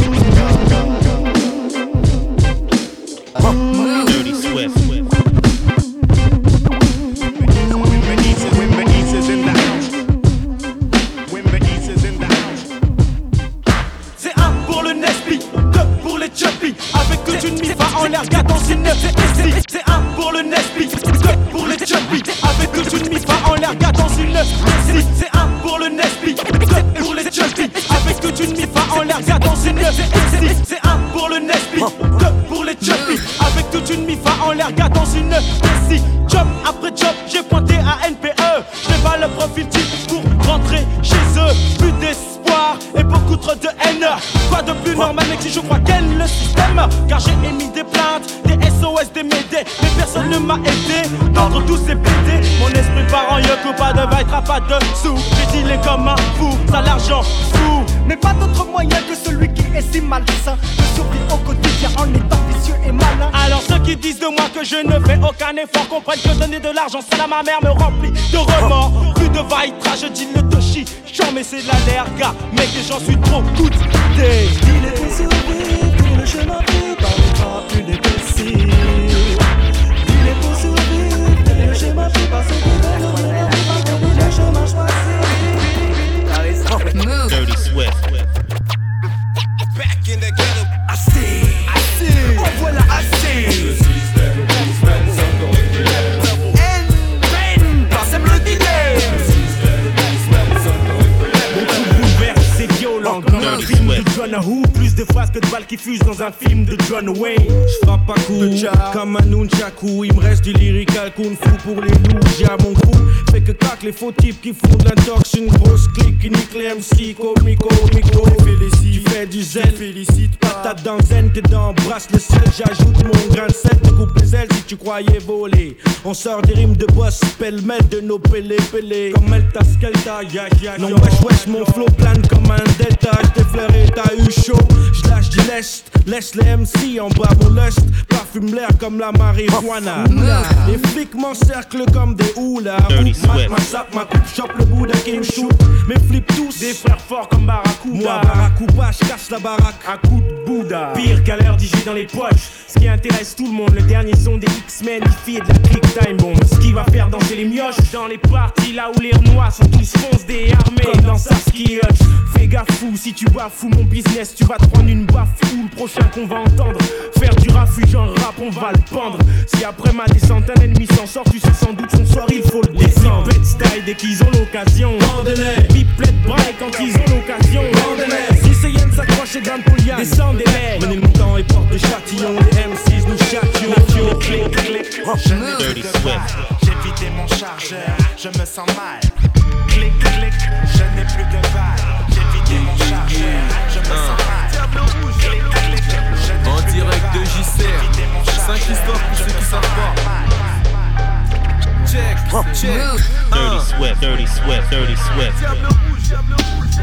Dirty Swift. Avec que d'une mi-fa en l'air gâtant une neuf et ici. C'est un pour le Nesby, deux pour les Chubby. Avec que d'une mi-fa en l'air gâtant une neuf et ici. C'est un pour le Nesby, deux pour les Chubby. Avec que d'une mi-fa en l'air gâtant une neuf et ici. C'est un pour le Nesby, deux pour les Chubby. Avec toute une mi-fa en l'air gâtant une neuf et ici. Job après job, j'ai pointé à N P E. Je fais pas le profil type pour rentrer chez eux. Plus d'espoir et beaucoup trop de haine. Quoi de plus normal mec si je crois qu'elle le système. Car j'ai émis des plaintes, des S O S, des médés. Mais personne ne m'a aidé d'entre tous ces B D. Mon esprit part en yoko, pas de vaitra, pas de sous. J'ai dealé comme un fou, ça l'argent fou. Mais pas d'autre moyen que celui qui est si malsain de survivre au quotidien en étant vicieux et malin. Alors ceux qui disent de moi que je ne fais aucun effort comprennent que donner de l'argent seul à ma mère me remplit de remords. Plus de vaitra, je dis le toshi. J'en mets c'est de la lerga, mec et j'en suis trop good day. Il est pour survivre, tout le chemin pris par les bras plus difficiles. Il est pour survivre, tout le chemin pris par ceux qui veulent revenir par le chemin choisi. Dirty Swift. Back in the ghetto, I see, I see, oh voilà, I see. And passe le dîner. C'est violent comme un film de John Who. Plus de phrases que de balles qui fusent dans un film de John Wayne. J'frappe à coup comme un nunchaku. Il me reste du lyrical kung fu pour les loups. J'ai à mon crew. Fait que cac les faux types qui font de l'intox. Une grosse clique qui nique les M C. Comico, micro, félicite. Tu fais du zèle, félicite. Patate dans zen, t'es dans brasse le sel. J'ajoute mon grain de sel. Te coupe les ailes si tu croyais voler. On sort des rimes de boss. Pêle-mêle de nos pélés pélés. Comme Elta Skelta, yeah yeah. Non wesh wesh mon flow plane comme un delta. J't'ai flairé, t'as eu chaud. J'lâche du lest, laisse les M C en bas mon lust. Parfume l'air comme la marijuana. Les flics m'encerclent comme des houlas. Mat ma sape, ma coupe, chope le bout d'un qui me shoot. Mes flips tous, des frères forts comme Barracuda. Moi Barracuda, j'casse la baraque à coup de Bouddha. Pire qu'à l'heure d'I G dans les poches. Ce qui intéresse tout le monde, le dernier son des X-Men, il fait de la click time bomb. Ce qui va faire danser les mioches dans les parties là où les Renois sont tous foncés et armés. Comme dans Starsky Hutch. Fais gaffe fou, si tu bafoues mon business, tu vas te prendre une baffe ou le prochain qu'on va entendre. Faire du rafuge en rap, on va le pendre. Si après ma descente un ennemi s'en sort, tu sais sans doute son sort, il faut le descendre. Pet style dès qu'ils ont l'occasion. Pipelette braille quand ils ont l'occasion. Si c'est Yen s'accroche et Grand Poulian, descendez-les. Menez le montant et porte de châtillon. Les M six nous châtillons. Clic, clic, je n'ai plus de balle. J'ai vidé mon chargeur, je me sens mal. Clic, clic, je n'ai plus de balle. J'ai vidé mon chargeur, je me sens mal. Clic, clic, je n'ai en plus direct de, de J C R, cinq histoires pour ceux qui savent pas. Check, check. Dirty Swift, Dirty Swift, Dirty Swift. Diable rouge, diable rouge.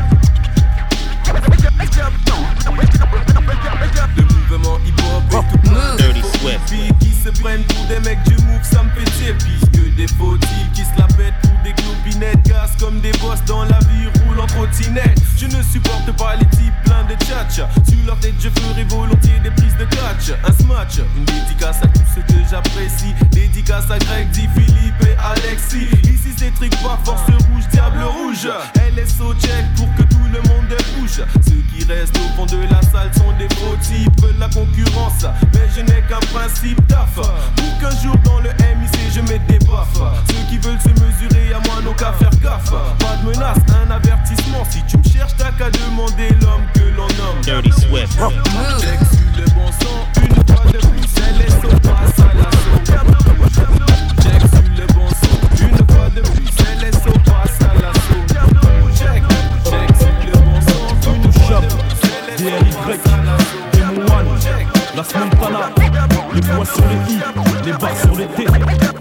Le mouvement hip-hop est tout plein de faux hippies qui se prennent pour des mecs du move, ça me fait tirer. Puisque des faux types qui se la pètent pour des clopinettes, cassent comme des boss dans la vie, roulent en trottinette. Je ne supporte pas les types pleins de tchatcha. Sur leur tête je ferai volontiers des prises de catch. Un smatch, une dédicace à tous ceux que j'apprécie. Dédicace à Greg, Di, Philippe et Alexis. Ici c'est trick pas force rouge, diable rouge. L S O check pour que tout le monde bouge. Ceux qui restent au fond de la salle sont des faux types. La concurrence, mais je n'ai qu'un principe taf. Pour qu'un jour dans le M I C je mette des baffes. Ceux qui veulent se mesurer à moi n'ont qu'à faire gaffe. Pas de menace, un avertissement. Si tu me cherches, t'as qu'à demander l'homme que l'on nomme Dirty Swift. Check sur le bon sang, une fois de plus, elle est saut, passe à l'assaut. Check sur le bon sang, une fois de plus, elle est saut, passe à l'assaut. Check, check sur le bon sang, une fois de plus, elle est saut, passe à l'assaut. M one, la Smontana, les points sur les i, les barres sur les T.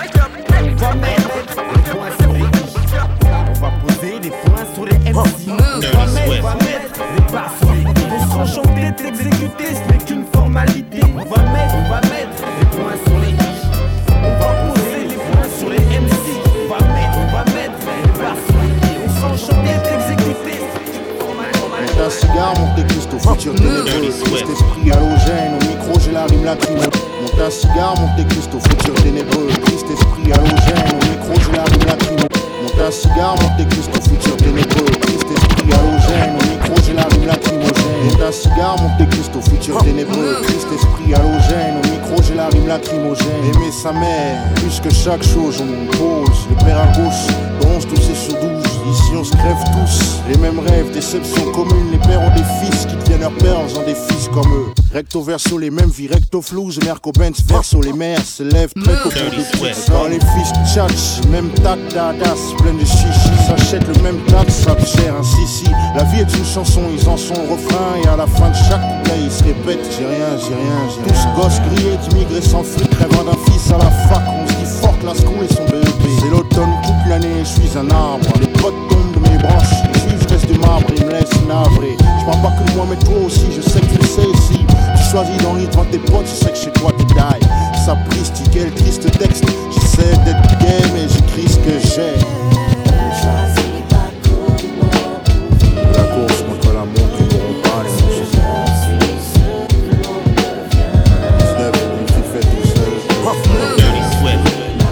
On va mettre les points sur les i. On va poser des points sur les M C. On va mettre, on va mettre les barres sur les i. On sera chanter, t'exécuter, ce n'est qu'une formalité. On va mettre, on va mettre les points sur les i. On va poser les points sur les M C. On va mettre, on va mettre les barres sur les i. On sera chanter, t'exécuter. Monte un cigare, Monte Cristo, futur ténébreux, triste esprit halogène, au micro j'ai la rime lacrymo. Monte un cigare, Monte Cristo, futur ténébreux, triste esprit halogène, au micro j'ai la rime lacrymo. Monte un cigare, Monte Cristo, futur ténébreux, triste esprit halogène, au micro j'ai la rime lacrymogène. Monte un cigare, Monte Cristo, futur ténébreux, triste esprit halogène, au micro j'ai la rime lacrymogène. Aimer sa mère, plus que chaque chose on pose, le père à gauche, onze douze et sur douze. Ici on se crève tous, les mêmes rêves, déceptions communes. Les pères ont des fils qui deviennent leurs pères en faisant des fils comme eux. Recto verso, les mêmes vies, recto flouze, Merco Benz verso. Les mères se lèvent très tôt pour des petites. Quand les fils tchatch, même tac dadas, plein de chichis, s'achètent le même tax, ça te cher un sissi. La vie est une chanson, ils en sont au refrain. Et à la fin de chaque couplet, ils se répètent j'ai rien, j'ai rien, j'ai rien. Tous gosses grillés, d'immigrés sans fric, rêvant d'un fils à la fac. On se dit fort que la school est son bébé. C'est l'automne toute l'année, je suis un arbre. Les potes tombent de mes branches, les juges restent de marbre, ils me laissent navré. Je parle pas que de moi mais toi aussi, je sais que tu le sais si tu choisis d'en rire devant tes potes, je sais que chez toi tu die. Ça prise, quel triste texte, j'essaie d'être gay mais j'écris ce que j'ai. La course contre la montre, ils n'auront pas les dix-neuf, une petite fête tout seul. Dirty Swift.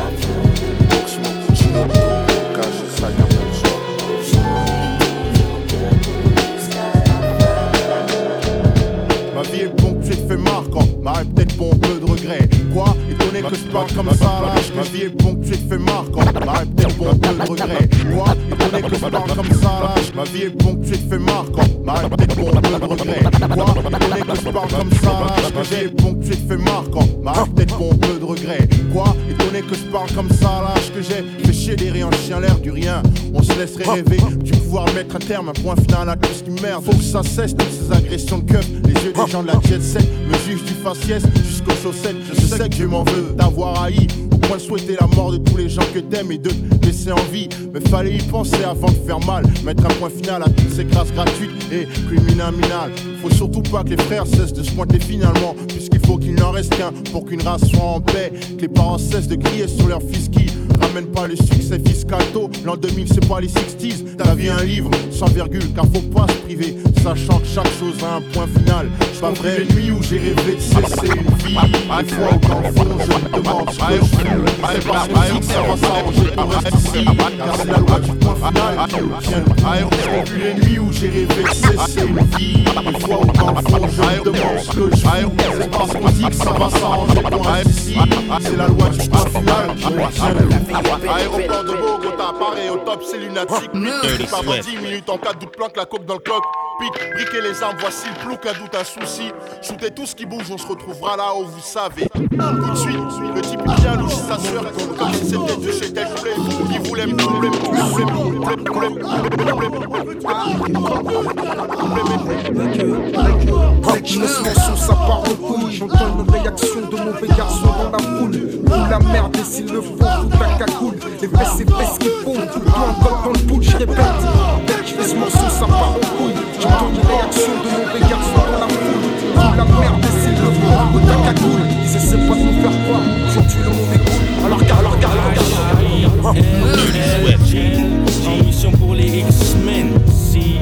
Ma vie est ponctuée de faits marquants, m'arrête peut-être pour un peu de regret. Quoi? Étonné que je parle comme ça à l'âge. Ma vie est ponctuée de faits marquants, m'arrête peut-être pour un peu de regret. Quoi? Étonné que je parle comme ça à l'âge. Ma vie est ponctuée de faits marquants, m'arrête peut-être pour un peu de regret. Quoi? Étonné que je parle comme ça à l'âge. Ma vie est ponctuée de faits marquants, m'arrête peut-être pour un peu de regret. Quoi? Étonné que je parle comme ça à l'âge que j'ai fait chier des rires en chien l'air du rien. On se laisserait rêver du pouvoir mettre un terme, un point final à tout ce qui merde. Faut que ça cesse toutes ces agressions de keuf. Les yeux des gens de la jet set me jugent du faciès jusqu'aux chaussettes. Je sais que je m'en veux d'avoir haï au point de souhaiter la mort de tous les gens que t'aimes et de te laisser en vie. Mais fallait y penser avant de faire mal, mettre un point final à toutes ces grâces gratuites et criminales. Faut surtout pas que les frères cessent de se pointer finalement, puisqu'il faut qu'il n'en reste qu'un pour qu'une race soit en paix. Que les parents cessent de crier sur leurs fils qui ramènent pas le succès fiscal tôt. L'an deux mille c'est pas les sixties, ta vie un livre sans virgule, car faut pas se priver, sachant que chaque chose a un point final. Pas vrai, les nuits où j'ai rêvé de cesser une vie. Des fois où dans le fond je me demande ce que je fais. C'est parce que ça va s'arranger pour rester ici, car c'est la loi du point final qui obtient. J'ai vu les nuits où j'ai rêvé de cesser une vie. Des fois où dans le fond je me demande ce que je fais. C'est parce qu'on dit que ça va s'arranger pour rester ici, c'est la loi du point final qui obtient. Aéroport de Bogota, Paris au top, c'est lunatique. Minute, pas dans dix minutes en cas de doute, planque la coque dans le coq. Briquer les armes, voici le plouc, un doute, un souci. Shootez tout ce qui bouge, on se retrouvera là où vous savez. Tout de suite, le type bien louche, sa sueur, comme si c'était Dieu chez tel poulet. Il voulait me doubler, je me sens sous sa part en couille. J'entends une réaction de mauvais garçon dans la foule. Ou la merde et s'il le faut, tout la cagoule. Les fesses c'est fesses qui font, tout le temps encore dans le pool, je répète. Je fais ce morceau, ça part en couille. J'entends une réaction de mauvais garçon dans la foule. Ou la merde et s'il le faut, tout la cagoule. Ils essaient pas de nous faire croire, je tue le mauvais coup. Alors regarde, alors regarde, alors regarde. En mission pour les X-Men, si.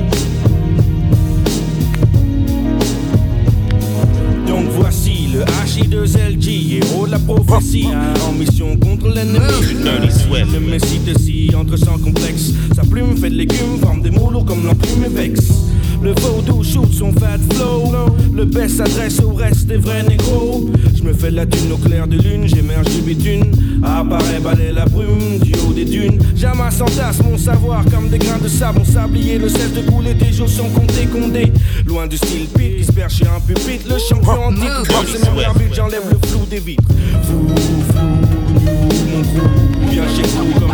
Donc voici le H I deux L G, héros de la prophétie, en mission contre l'ennemi. Le messie de si entre sans complexe. Sa plume fait de légumes, forme des mots lourds comme l'enclume et vexe. Le vaudou shoot son fat flow. Le best s'adresse au reste des vrais négros. Je me fais de la thune au clair de lune, j'émerge du bitume. Apparaît balayer la brume du haut des dunes. J'amasse en tasse mon savoir comme des grains de sable. Mon sablier ne cesse de couler, des jours sont comptés, condés. Loin du style pit qui se perd chez un pupitre. Le champion antique, c'est mon arbitre, j'enlève le flou des vitres. Flou, flou, nous, mon crew, viens chez vous comme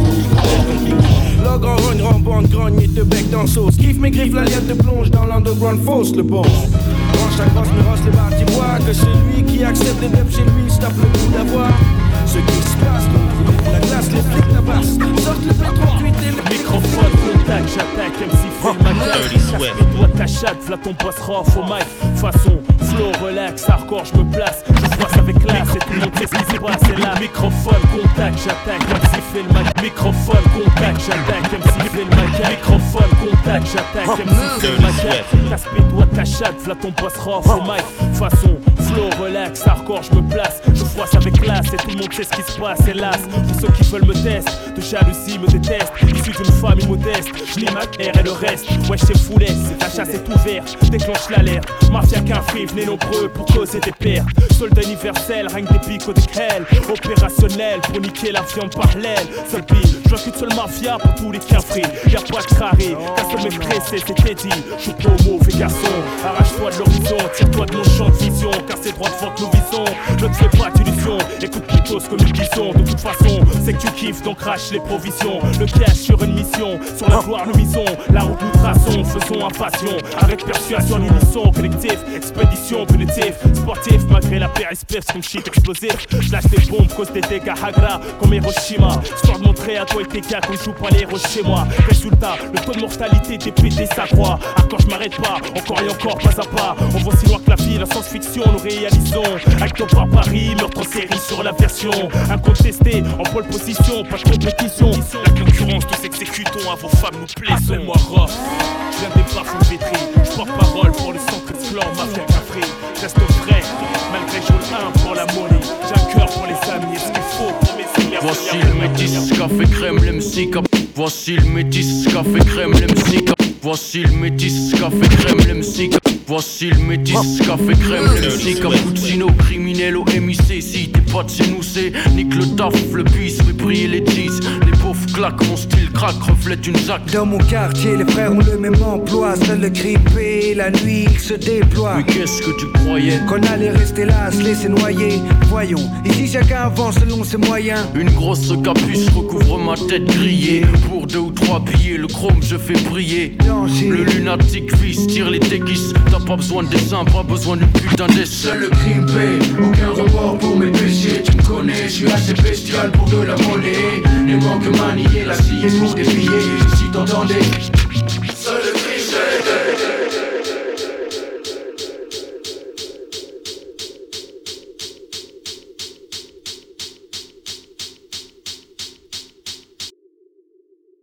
nous. Log en rogne, rembande, grogne et te bec dans sauce. Kiffe mes griffes, la liette te plonge dans l'underground fausse, le boss. Branche ta grosse, me rosse les barres, tu vois que celui qui accepte les debs chez lui, se tape le coup d'avoir. Ce qui se passe, la glace, les flics tabassent. Sorte le P trente-huit et le microphone, contact, j'attaque, M C fait ma gueule. Toi ta chatte, v'là ton boss rough au mic. Façon, flow, relax, hardcore, je me place. Je passe avec classe et tout le monde sait ce qui se passe. C'est là, microphone, contact, j'attaque, M C fait le mic. Microphone, contact, j'attaque, M C fait le mic. Microphone, contact, j'attaque, M C fait le mic. Casse-pied, toi ta chatte, v'là ton boss rough au mic. Façon, flow, relax, hardcore, je me place. Je passe avec classe et tout le monde sait ce qui se passe, hélas. Pour ceux qui veulent me tester, de jalousie me détestent. Issu d'une famille modeste, je lis ma R et le reste. Ouais, c'est foulet, ta chasse est ouverte, déclenche l'alerte. Mafia qu'un free, venez nombreux pour causer des pertes. Soldat universel, règne des pics au décrel. Opérationnel pour niquer la viande par l'aile. Seul pile, je vois qu'une seule mafia pour tous les cafés. Y'a pas de carré, qu'à se maîtriser, c'était dit. J'suis pas au mauvais garçon, arrache-toi de l'horizon, tire-toi de mon champ de vision. Car c'est droit devant que nous visons, je ne fais pas d'illusion. Écoute plutôt ce que nous disons, de toute façon, c'est que tu kiffes, donc crache les provisions. Le cash sur une mission, sur la gloire nous misons. La route nous traçons, faisons impassion. Avec persuasion, nous lissons, collectif, expédition punitive. Sportif, malgré la paire espèce comme shit explosif. J'lâche des bombes, cause des dégâts hagra, comme Hiroshima. Histoire de montrer à toi et tes gars qu'on joue pas les héros chez moi. Résultat, le taux de mortalité des pétés s'accroît. Ah, quand je m'arrête pas, encore et encore, pas à pas. On voit si loin que la vie, la science-fiction, nous réalisons. Acte par Paris, meurtre en série sur la version. Incontesté, en pole position, pas de compétition. La concurrence, nous exécutons, à vos femmes nous plaisons. Appelle-moi Rof, je viens des bafs pétris. Je porte parole pour le centre explore, mafia café. Reste vrai, malgré j'ai un pour la monnaie. J'ai un cœur pour les amis, et ce qu'il faut pour mes amis. Voici le métis, café crème, l'M C cap. Voici le métis, café crème, l'M C cap. Voici le métis, café crème, l'M C cap. Voici le métis, café crème, l'M C cappuccino, criminel au M I C. Si t'es pas de chez nous, c'est nique le taf, le bis, fait briller les jeans. Les pauvres claquent, mon style craque, reflète une zac. Dans mon quartier, les frères ont le même emploi. Seul le grippé, la nuit il se déploie. Mais qu'est-ce que tu croyais? Qu'on allait rester là, se laisser noyer. Voyons, ici chacun avance selon ses moyens. Une grosse capuche recouvre ma tête grillée. Pour deux ou trois billets, le chrome je fais briller. Danger. Le lunatique vise, tire les déguises. T'as pas besoin de dessin, pas besoin d'une putain d'essai. Seul le crime paie, aucun report pour mes péchés. Tu me connais, je suis assez bestial pour de la monnaie. Les manques maniés, la scie pour des billets. Si t'entendais